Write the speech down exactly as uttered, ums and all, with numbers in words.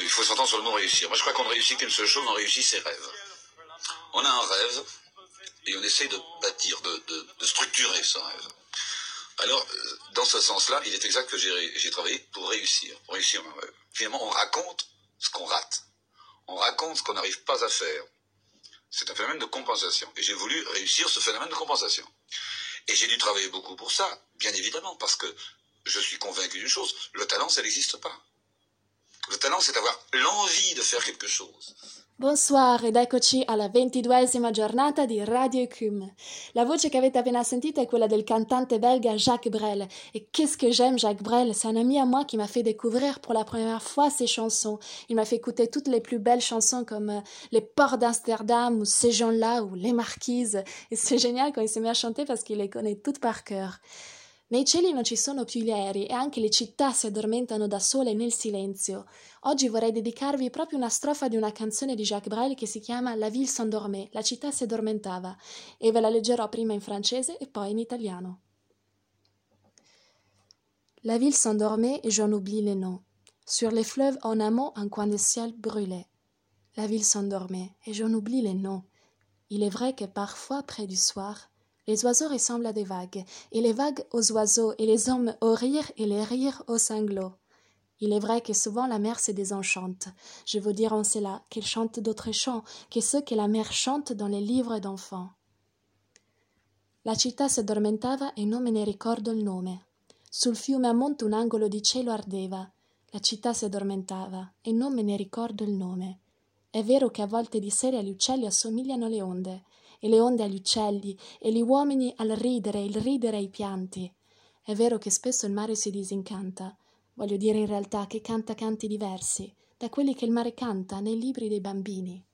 il faut s'entendre sur le mot réussir. Moi, je crois qu'on ne réussit qu'une seule chose, on réussit ses rêves. On a un rêve et on essaie de bâtir, de, de, de structurer ce rêve. Alors, dans ce sens-là, il est exact que j'ai travaillé pour réussir, pour réussir un rêve. Finalement, on raconte ce qu'on rate. On raconte ce qu'on n'arrive pas à faire. C'est un phénomène de compensation. Et j'ai voulu réussir ce phénomène de compensation. Et j'ai dû travailler beaucoup pour ça, bien évidemment, parce que je suis convaincu d'une chose, le talent, ça n'existe pas. Le talent, c'est avoir l'envie de faire quelque chose. Bonsoir ed eccoci alla ventiduesima giornata di Radio Ecume. La voce che avete appena sentita è quella del cantante belga Jacques Brel. Et qu'est-ce que j'aime Jacques Brel, c'est un ami à moi qui m'a fait découvrir pour la première fois ses chansons. Il m'a fait écouter toutes les plus belles chansons comme Les Ports d'Amsterdam ou Ces gens-là ou Les Marquises. Et c'est génial quand il s'est mis à chanter parce qu'il les connaît toutes par cœur. Nei cieli non ci sono più gli aerei e anche le città si addormentano da sole nel silenzio. Oggi vorrei dedicarvi proprio una strofa di una canzone di Jacques Brel che si chiama La ville s'endormait, la città si addormentava, e ve la leggerò prima in francese e poi in italiano. La ville s'endormait et j'en oublie les noms. Sur les fleuves en amont un coin de ciel brûlait. La ville s'endormait et j'en oublie les noms. Il est vrai que parfois, près du soir, les oiseaux ressemblent à des vagues, et les vagues aux oiseaux, et les hommes aux rires, et les rires aux sanglots. Il est vrai que souvent la mer se désenchante. Je veux dire en cela qu'elle chante d'autres chants que ceux que la mer chante dans les livres d'enfants. La città si addormentava e non me ne ricordo il nome. Sul fiume a monte un angolo di cielo ardeva. La città si addormentava e non me ne ricordo il nome. È vero che a volte di sera gli uccelli assomigliano alle onde, e le onde agli uccelli, e gli uomini al ridere, il ridere ai pianti. È vero che spesso il mare si disincanta, voglio dire in realtà che canta canti diversi, da quelli che il mare canta nei libri dei bambini.